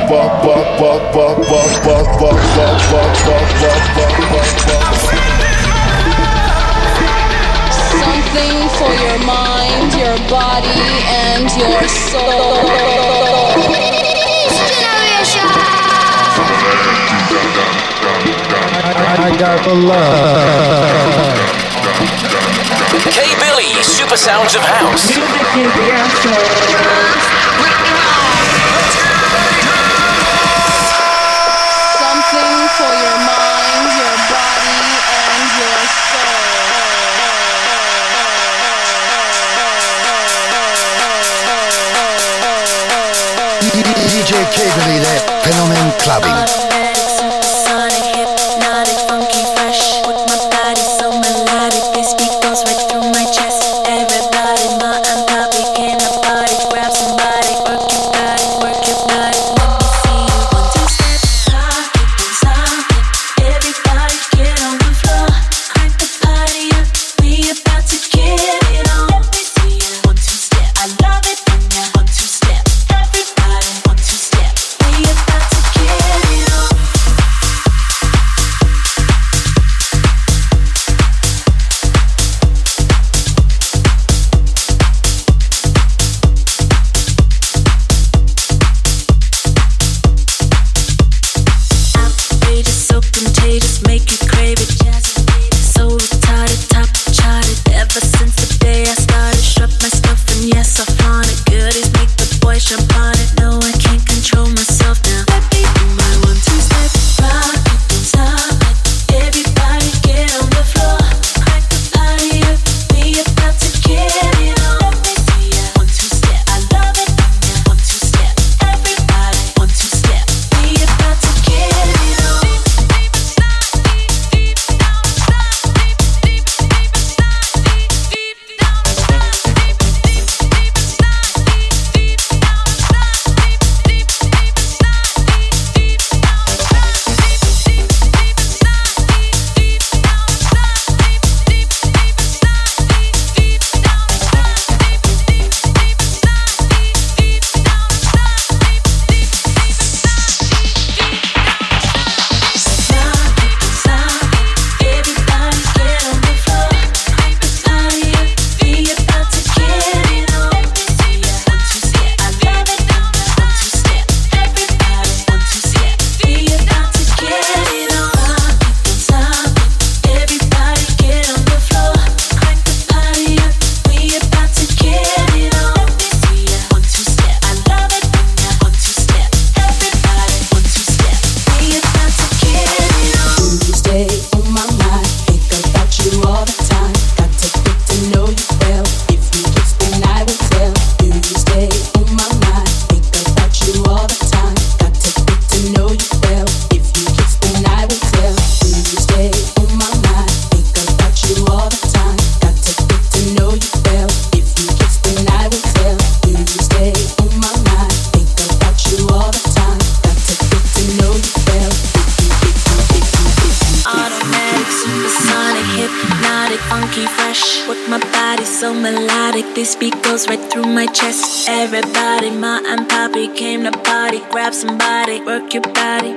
Something for your mind, your body, and your soul. I got the love. K-Billy, Super Sounds of House. Music is the answer. Something for your mind, your body, and your soul. DJ K-Billy ile Fenomen Clubbing. This beat goes right through my chest. Everybody, ma and papi came to party. Grab somebody, work your body,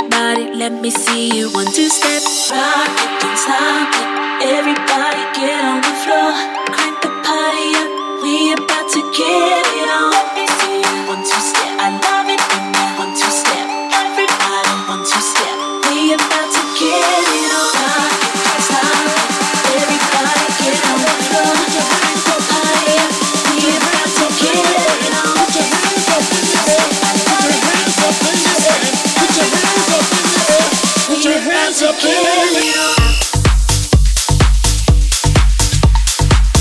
let me see you. 1, 2 step, rock it, don't stop it. Everybody get on the floor, crank the party up. We about to get it on. Let me see you. 1, 2 step, I love it when you 1, 2 step. Everybody, 1, 2 step. We about to get it on. Rock it, don't stop it. Everybody get on the floor. Put your hands up in the air.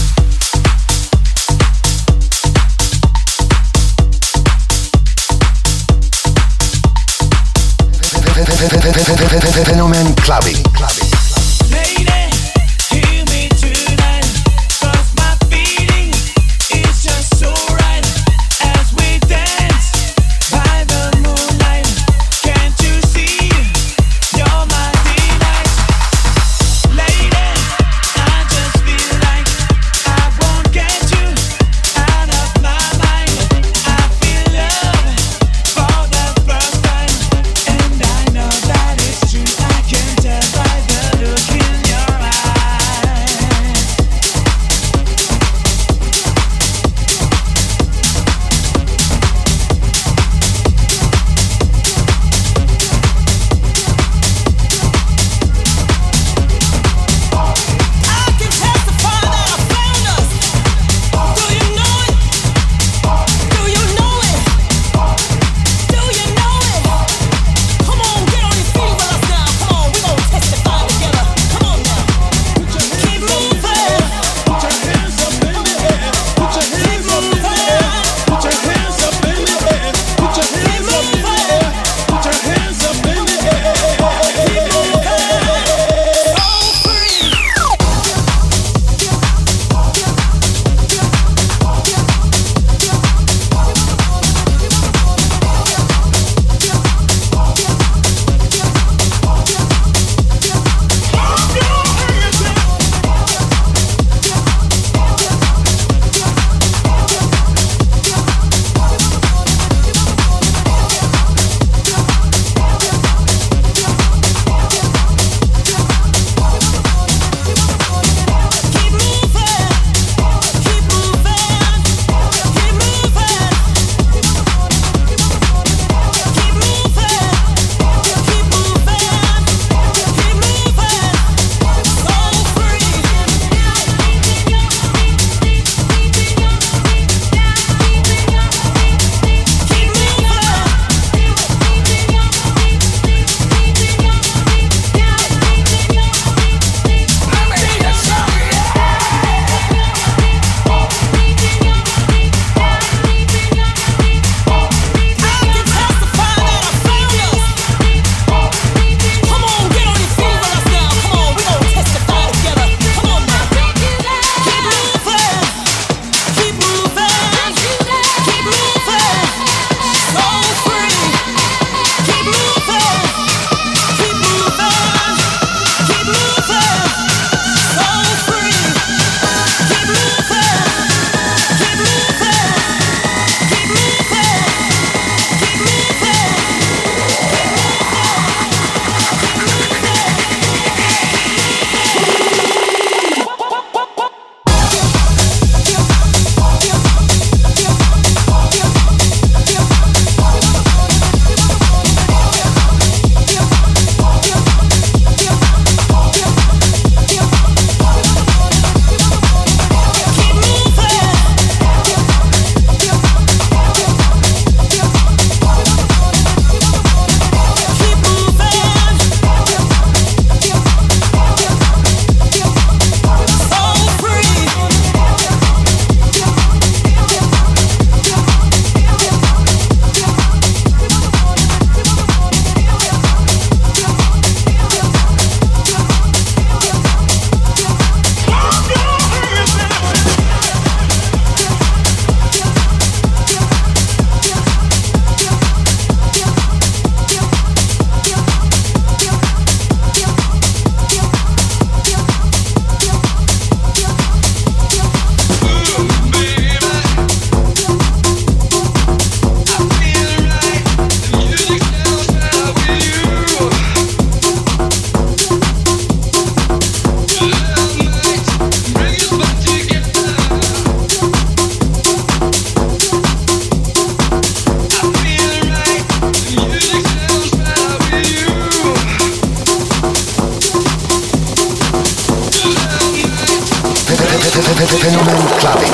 Fenomen Clubbing.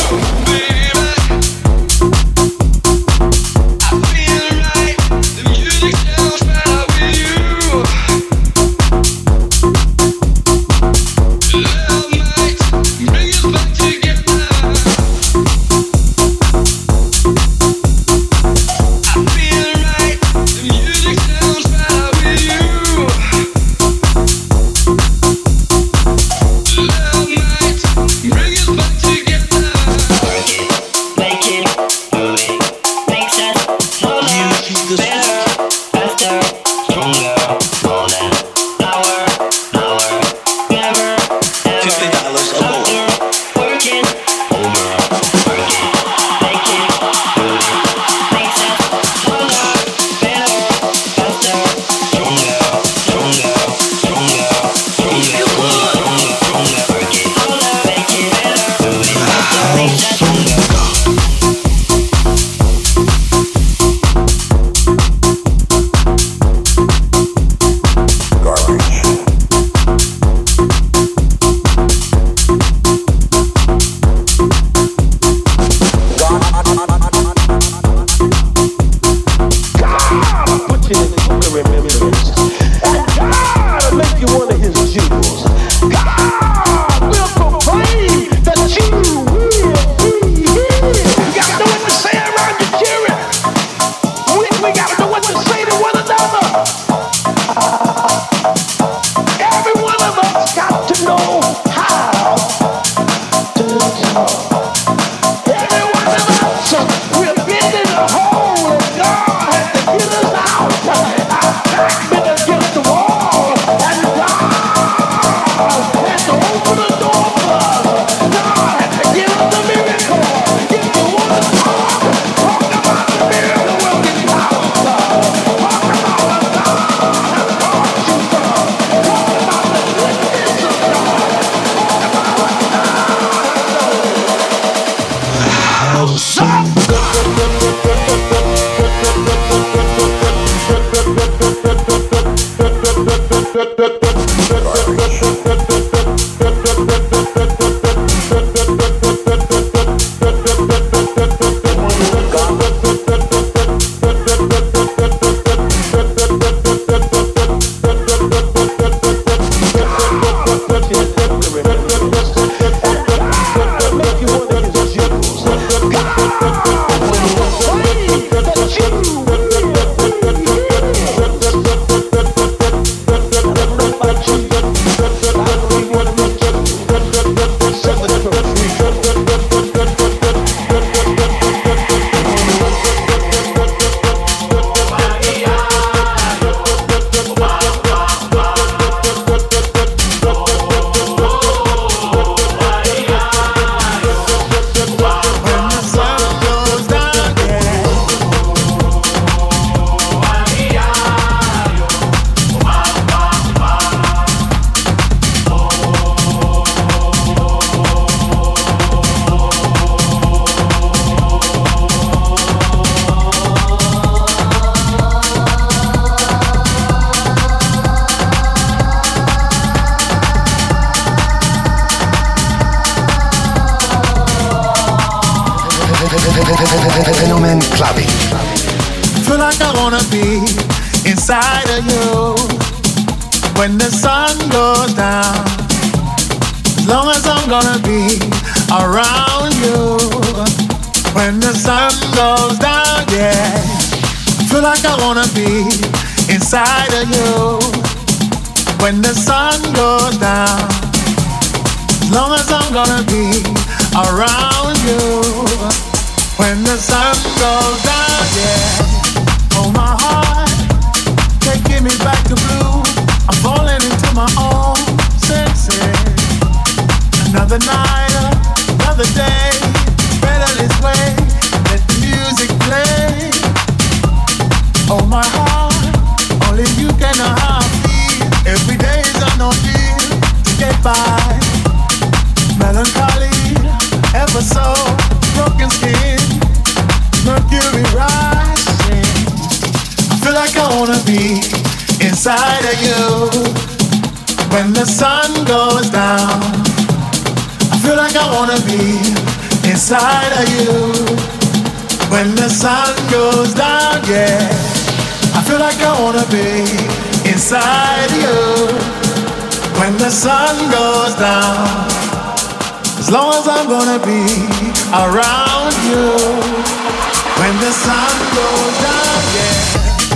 Fenomen Clubbing. Feel like I wanna be inside of you when the sun goes down. As long as I'm gonna be around you when the sun goes down, yeah. Feel like I wanna be inside of you when the sun goes down. As long as I'm gonna be around you when the sun goes down, yeah. Oh, my heart, taking me back to blue. I'm falling into my own senses. Another night, another day, better this way. Let the music play. Oh, my heart, only you can know how I feel. Every day is an ordeal to get by. Melancholy, ever so broken skin, mercury rising. I feel like I wanna be inside of you when the sun goes down. I feel like I wanna be inside of you. When the sun goes down, yeah. I feel like I wanna be inside you. When the sun goes down, as long as I'm gonna be around you. When the sun goes down, yeah.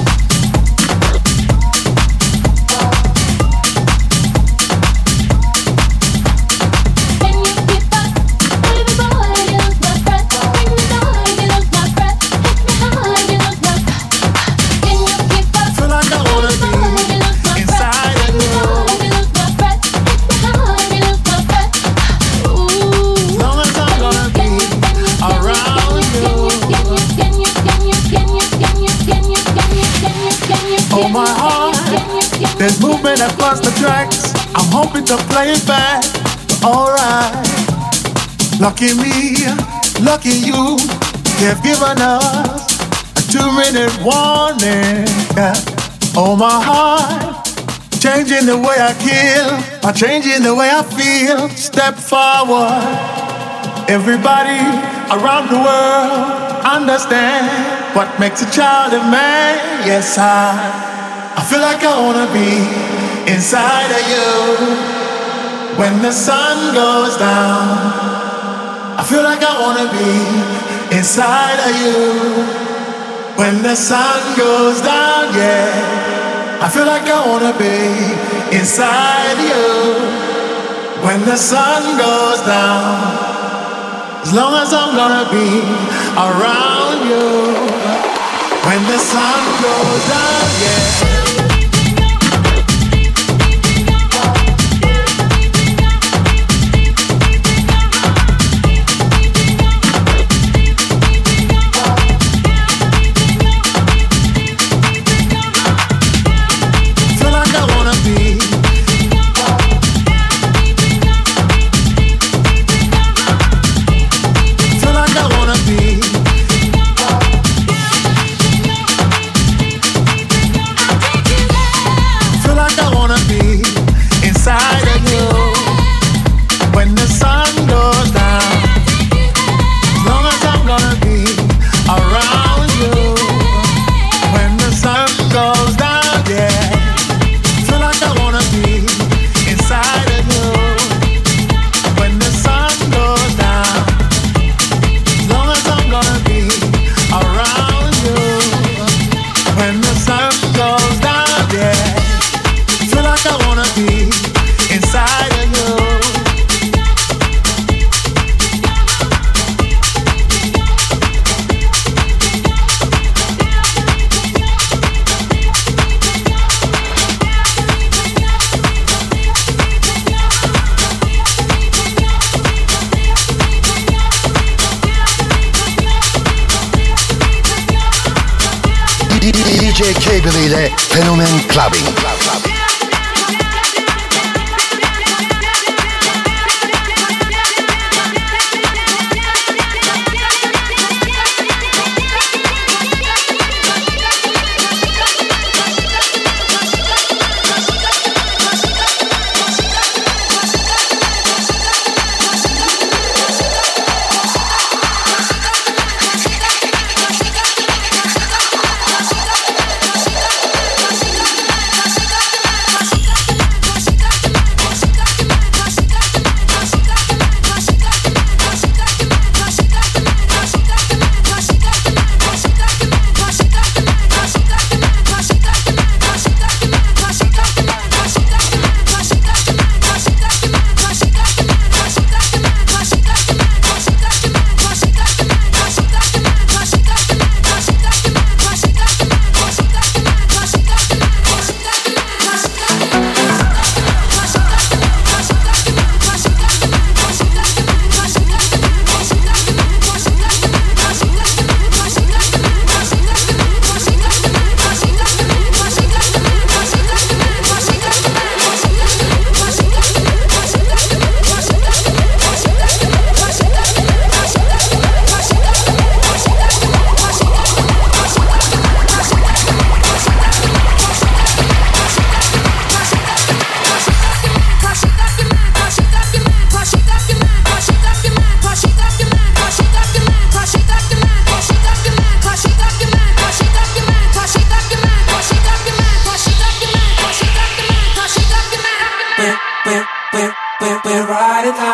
Oh my heart, there's movement across the tracks. I'm hoping to play it back. Alright, lucky me, lucky you. They've given us a 2-minute warning. Oh my heart, changing the way I kill, or changing the way I feel. Step forward, everybody around the world understand what makes a child a man. Yes, I feel like I wanna be inside of you. When the sun goes down, I feel like I wanna be inside of you. When the sun goes down, yeah, I feel like I wanna be inside you. When the sun goes down, as long as I'm gonna be around you. When the sun goes down, yeah. DJ Cable ile Fenomen Clubbing.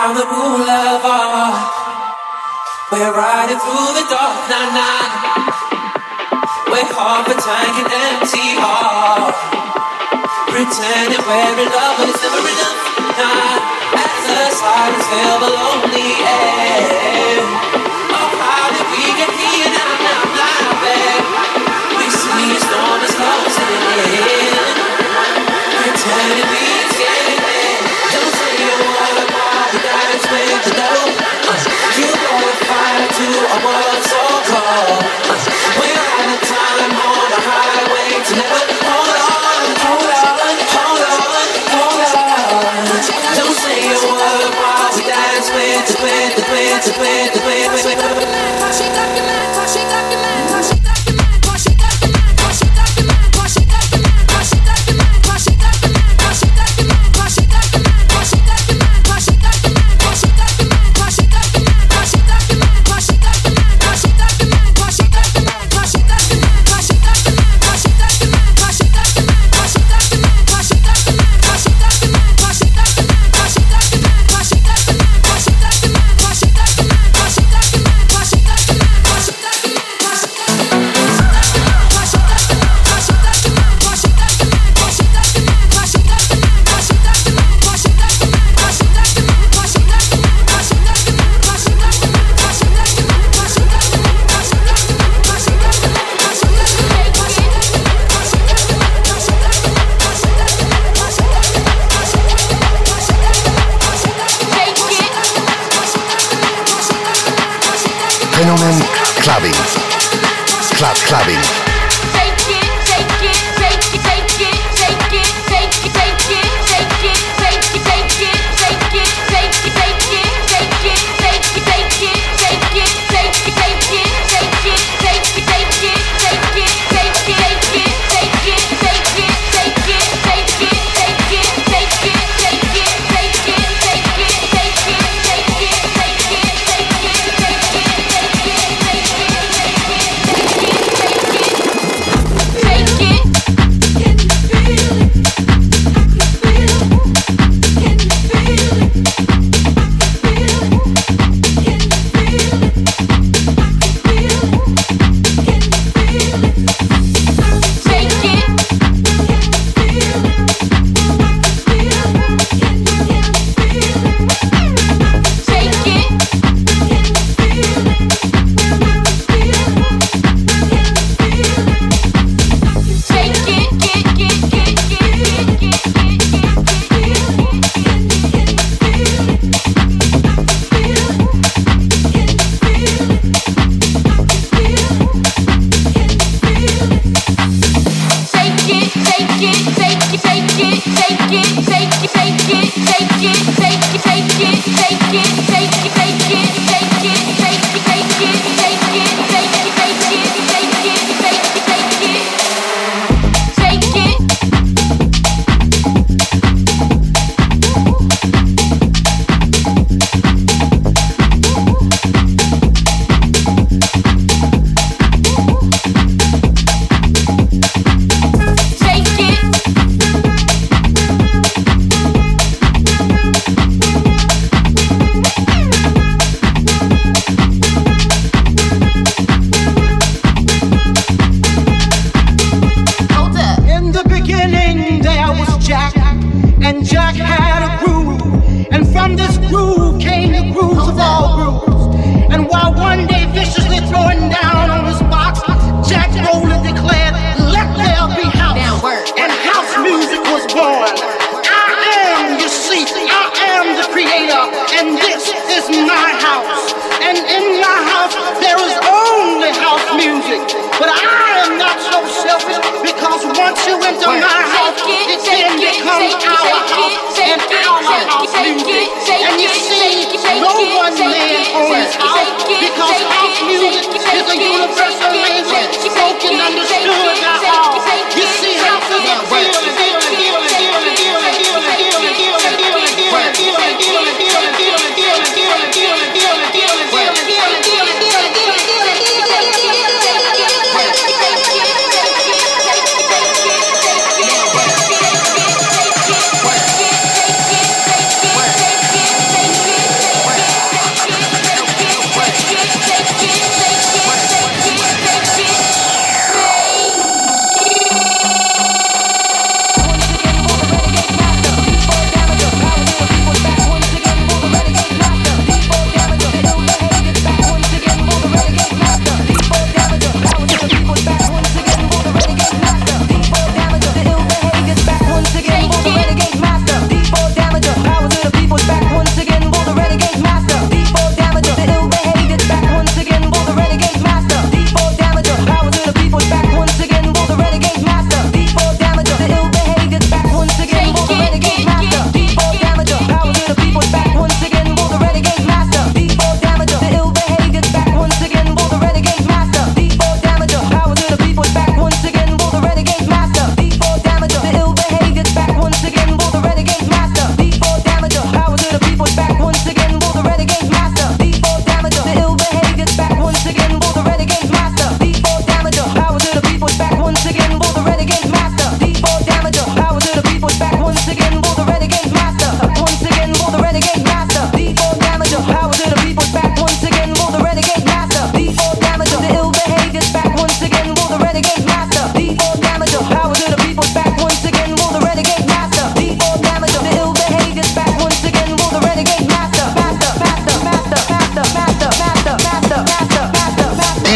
Malibu lover. We're riding through the dark night. We're half a tank and empty heart. Pretending we're in love, but it's never enough. As the silence fill the lonely air. Oh, how did we get here now, babe? We see a storm is closing in. Pretending we're getting there. Don't say a word about the dance with the devil. You brought a fire to a world so cold. We're out of time on the highway to never hold on, hold on, hold on, hold on. Don't say a word while we dance with the Fenomen Clubbing. Clubbing.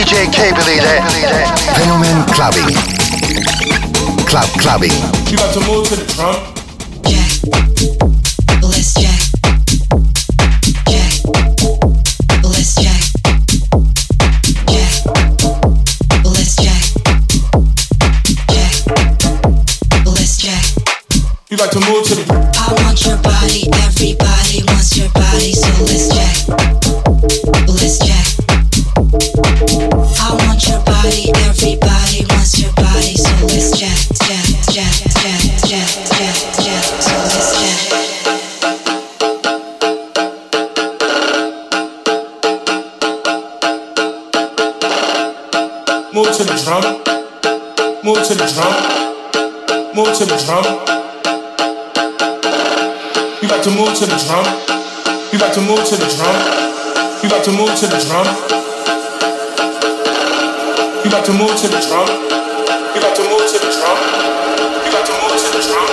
DJ Cable ile Fenomen Clubbing. Clubbing. You got to move to the drum. Jack, let's jack. Jack, let's jack. Jack, let's jack. Jack, let's jack. You got to move to the. I want your body, everybody wants your body, so let's jack. Let's jack. I want your body, everybody wants your body, so let's jack, jack, jack, jack, jack, jack, jack, so let's jack. Move to the drum. Move to the drum. Move to the drum. You got to move to the drum. You got to move to the drum. You got to move to the drum. You got to move to the drum. You got to move to the drum. You got to move to the drum.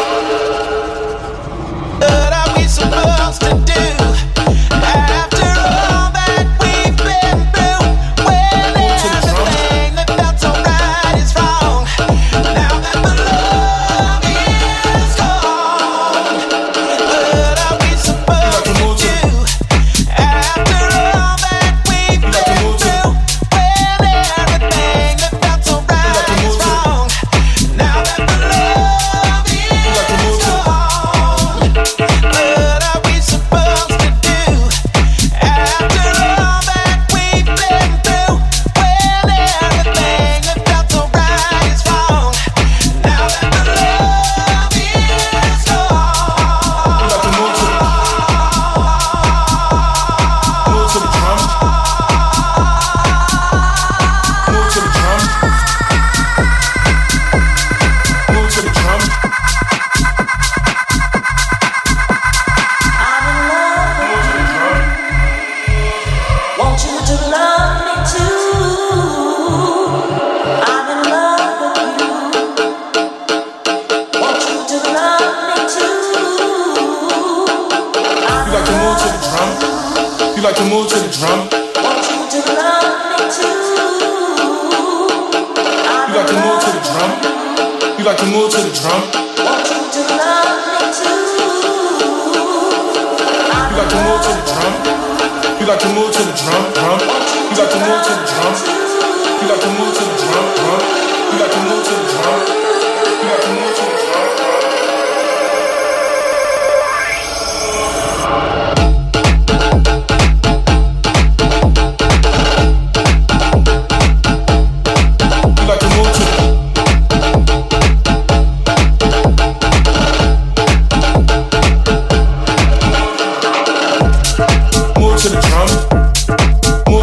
What are we supposed to do after all that we've been through? When everything that felt so right is wrong. Now that the love is gone, what are we supposed to do after all that we've been through? When everything that felt so right is wrong. Now that the love is gone, what are we supposed to do after all that we've been through? When everything that felt so right is wrong. Now that the love is gone. You got to move to the drum. Move to the drum. Move to the drum. I'm in love with you. Want you to love me too. I'm in love with you. Want you to love me too. You got to move to the drum. You got to move to the drum. Want you to love me too. You got to move to the drum. You got to move to the drum. Want you to love me too. You got to move to the drum. You got to move to the drum. Drum. You got to move to the drum. You got to move to the drum. Drum. You got to move to the drum. You got to move to the drum. You got to move to the. Move to the drum. Move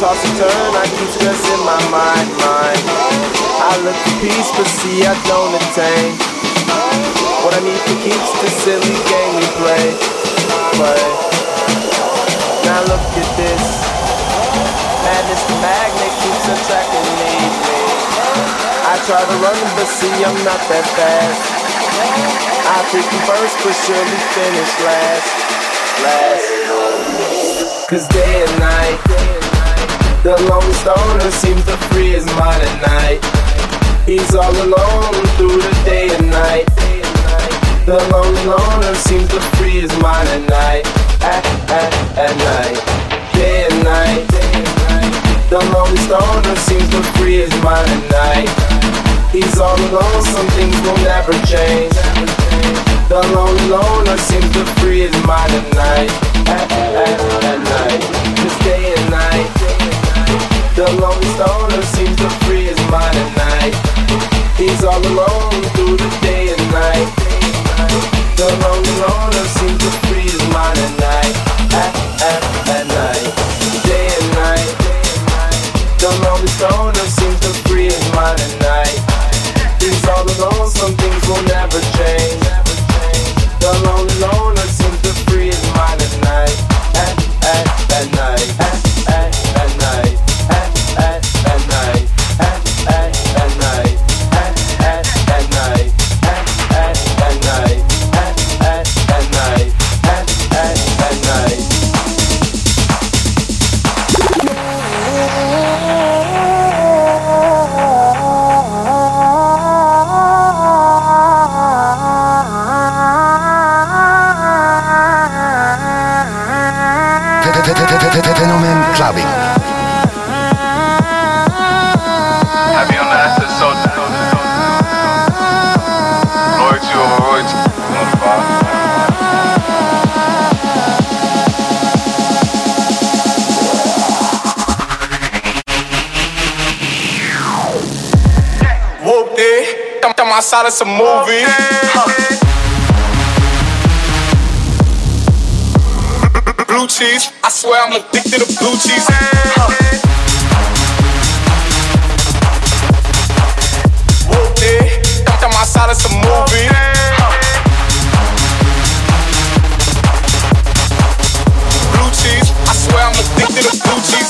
toss and turn, I keep stressing my mind. I look for peace, but see I don't attain. What I need to keep's the silly game we play. Now look at this. Madness, the magnet keeps attracting me. I try to run, but see I'm not that fast. I pick you first, but surely finish last. Cause day and night, the lonely stoner seems to free his mind at night. He's all alone through the day and night. The lonely loner seems to free his mind at night. At night, day and night. The lonely stoner seems to free his mind at night. He's all alone, some things will never change. The lonely loner seems to free his mind at night. At night, just day and night. The lonely stoner seems to free his mind at night. He's all alone through the day and night. The lonely loner seems to free his mind at night. At night, day and night. The lonely stoner seems to free his mind at night. He's all alone, some things will never change. The lonely loner seems to free his mind at night. At night, at night, at night, at night, at night, at night, at night, at night. Fenomen Clubbing. Happy on the acid soldier. Loyalty over royalty. Whoop it. I'm outside of some movie. Blue cheese, I swear I'm addicted to blue cheese. Whoop it, I'm outside of some movie. Blue cheese, I swear I'm addicted to blue cheese.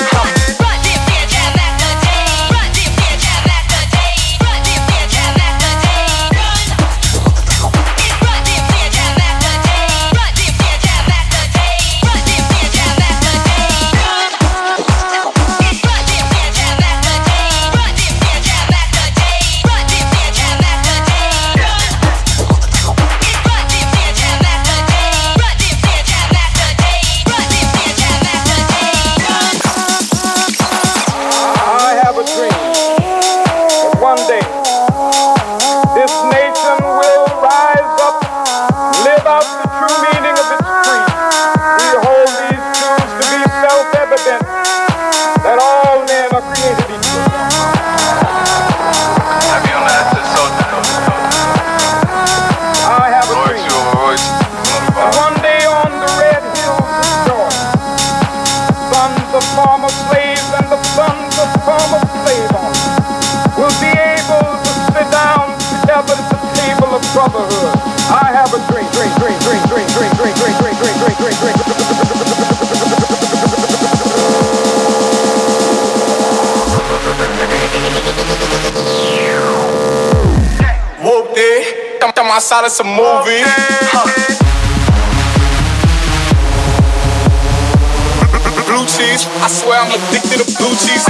Brotherhood. I have a dream. Whoop it, I'm outside of some movie. Blue cheese, I swear I'm addicted to blue cheese.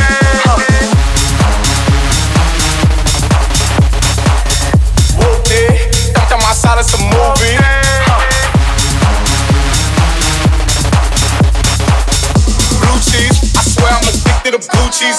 I'm outside of some movie. Blue cheese, I swear I'm addicted to blue cheese.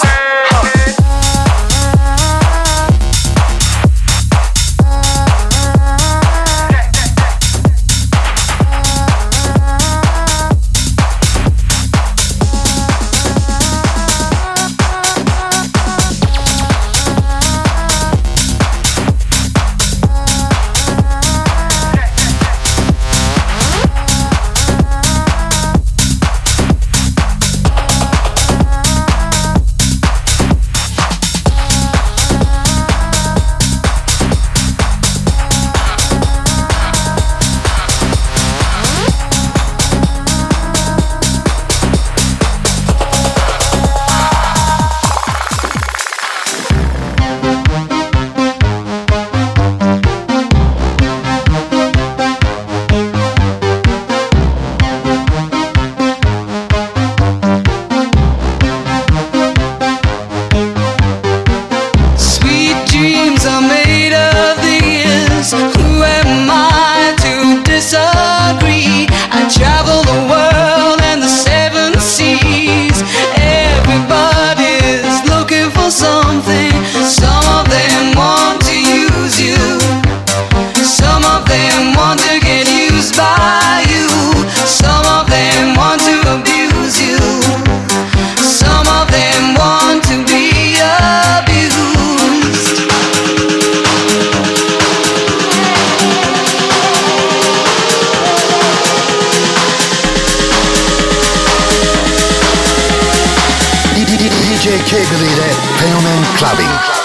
DJ Kegri ile Fenomen Clubbing.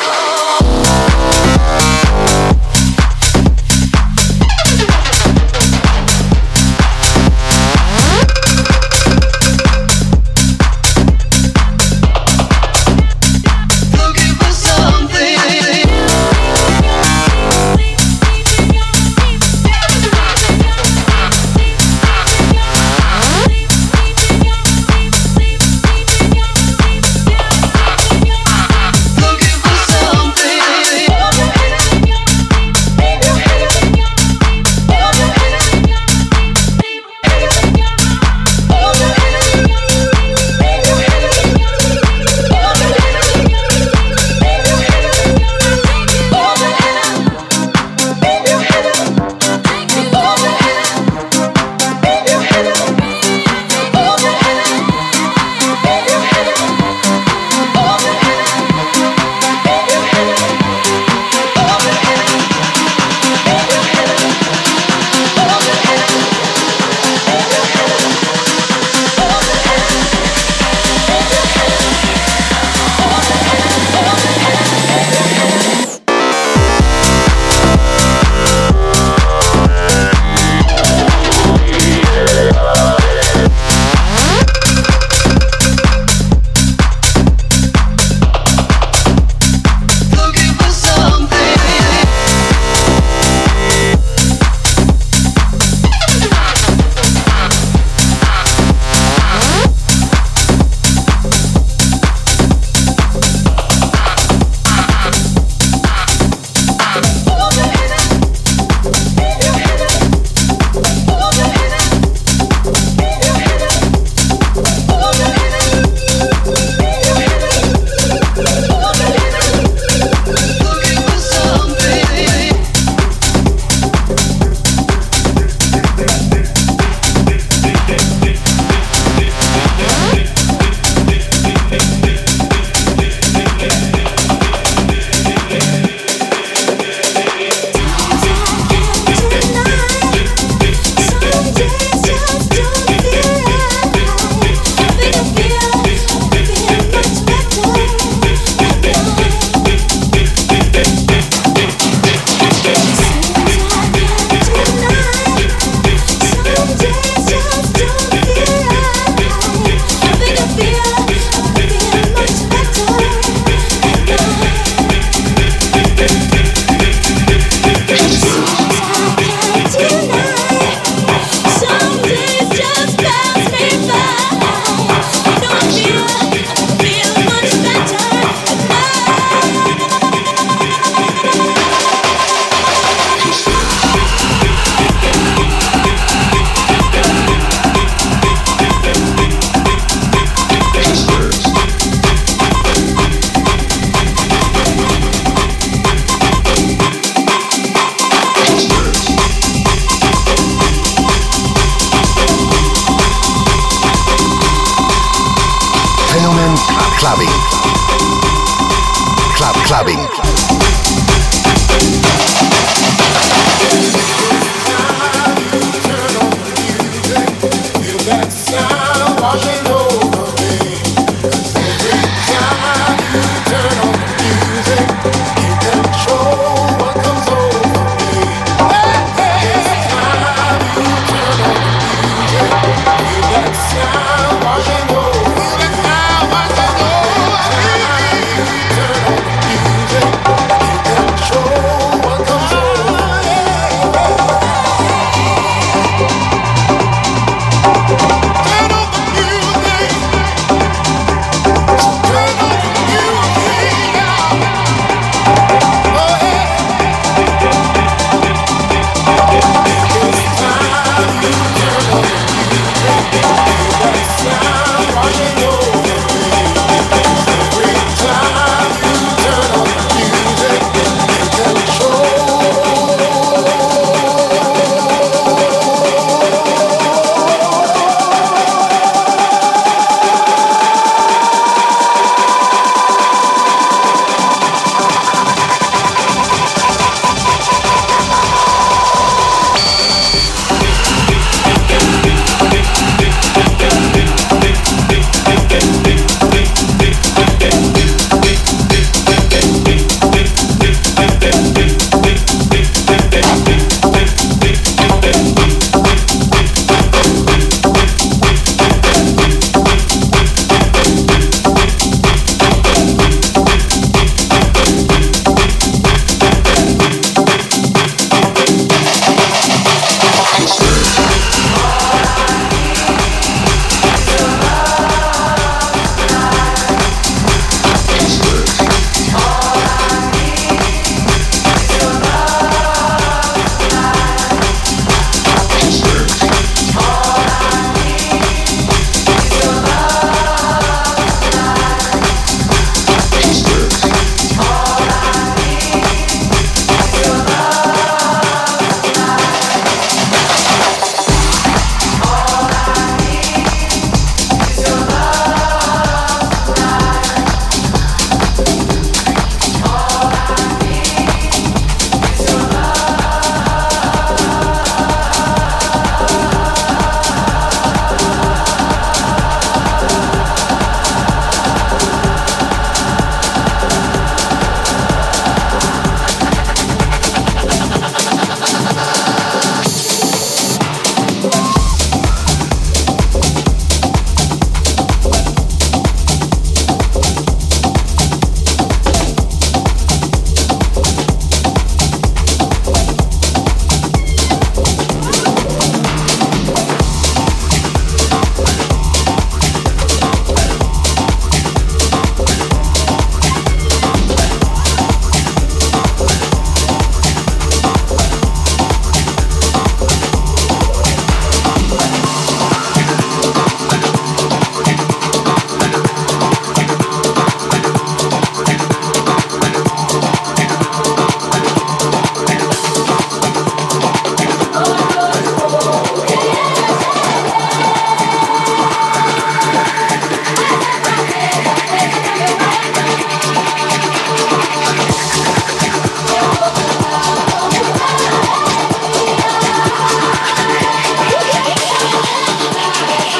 Clubbing.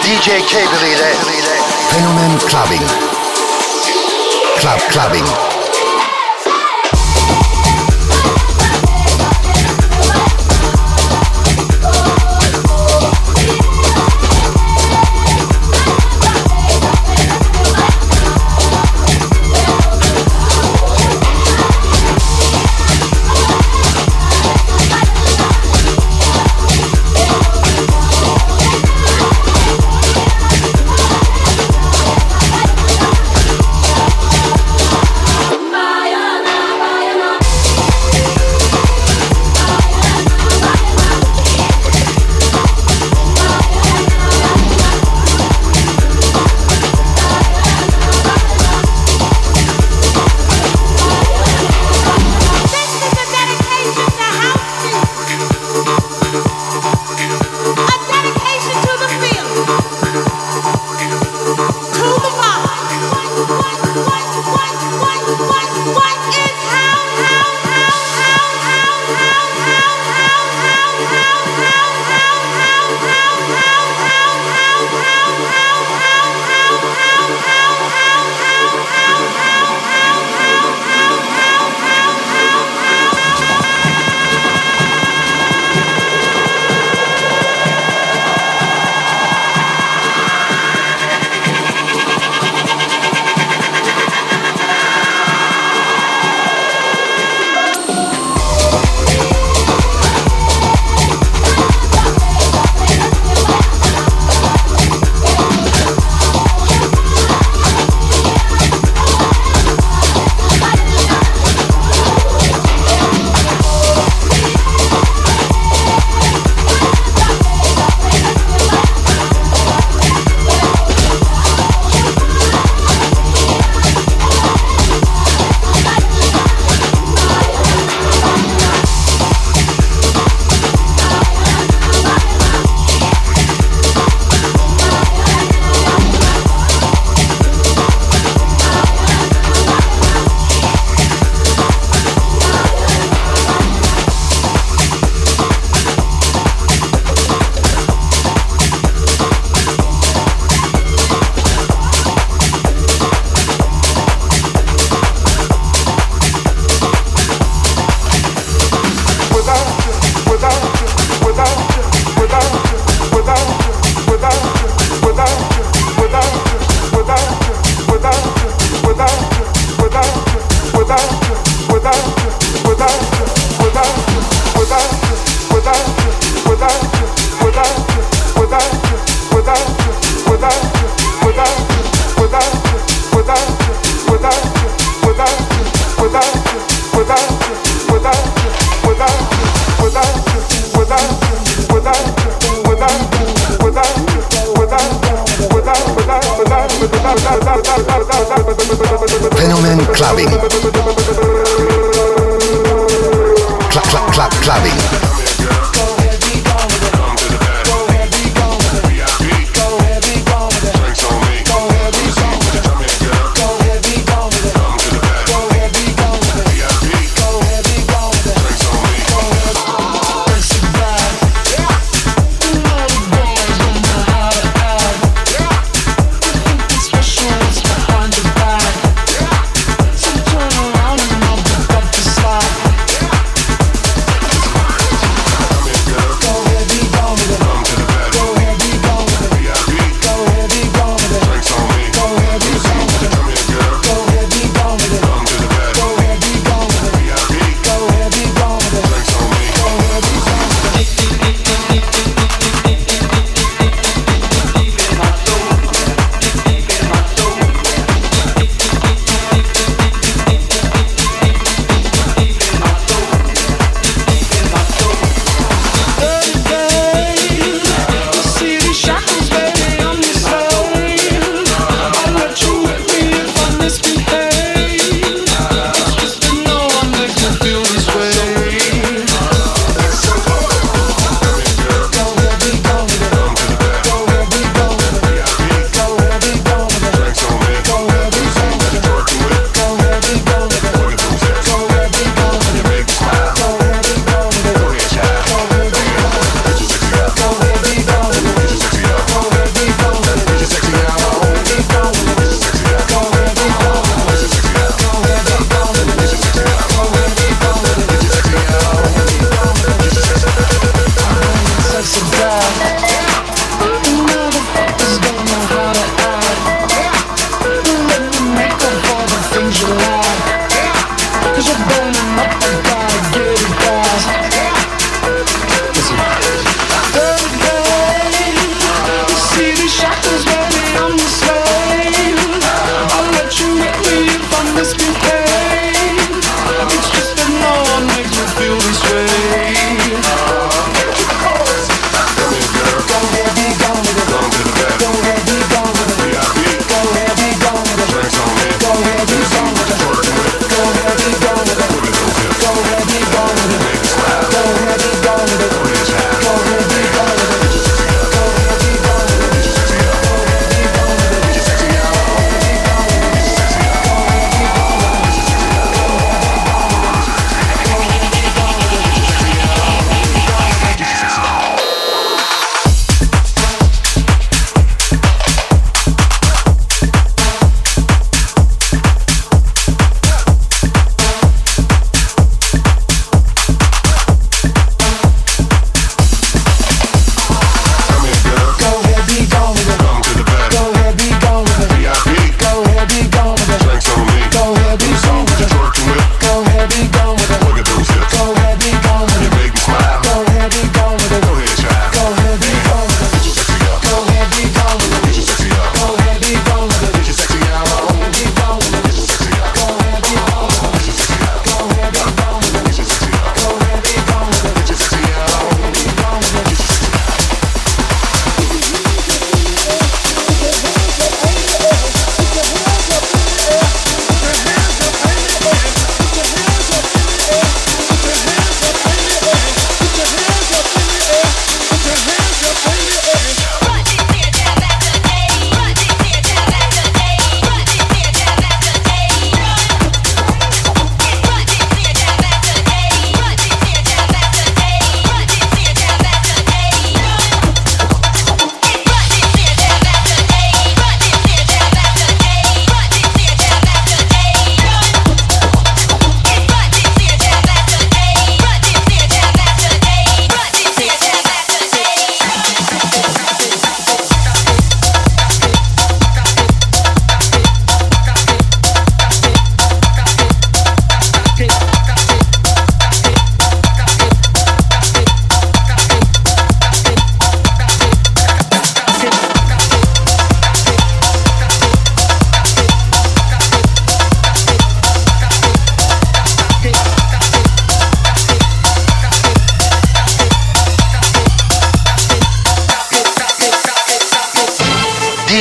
DJ Cable ile Fenomen Clubbing. Clubbing. Fenomen Clubbing. Clubbing. Turn on.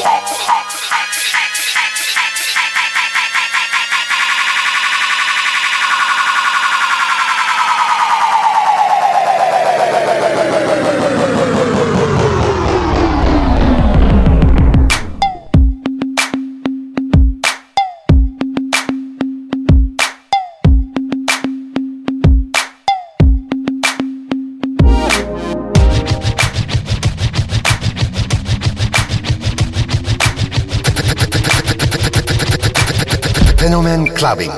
Fenomen Clubbing.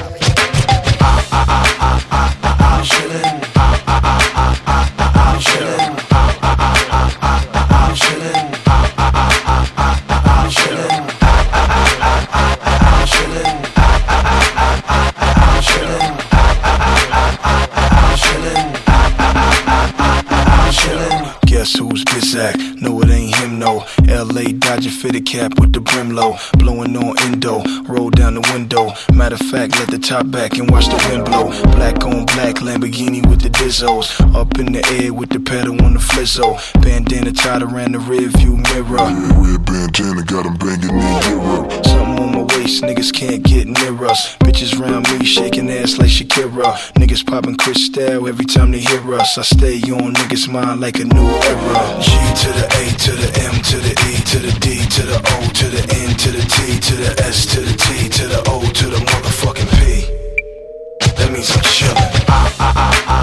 Guess who's Bizak? No, it ain't him, no. LA Dodger fitted cap with the brim low. Blowing on endo, roll down the window. Matter of fact, let the top back and watch the wind blow. Black on black, Lamborghini with the Dizzos. Up in the air with the pedal on the flizzo. Bandana tied around the rear view mirror. Red bandana got them banging in Europe. Something on my waist, niggas can't get near us. Bitches round me shaking ass like Shakira. Niggas popping Cristal every time they hear us. I stay on niggas' mind like a new era. G to the A to the M to the E to the D to the O to the N to the T to the S to the T to the O to the motherfucking P. That means I'm chillin'.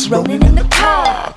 rolling in the car.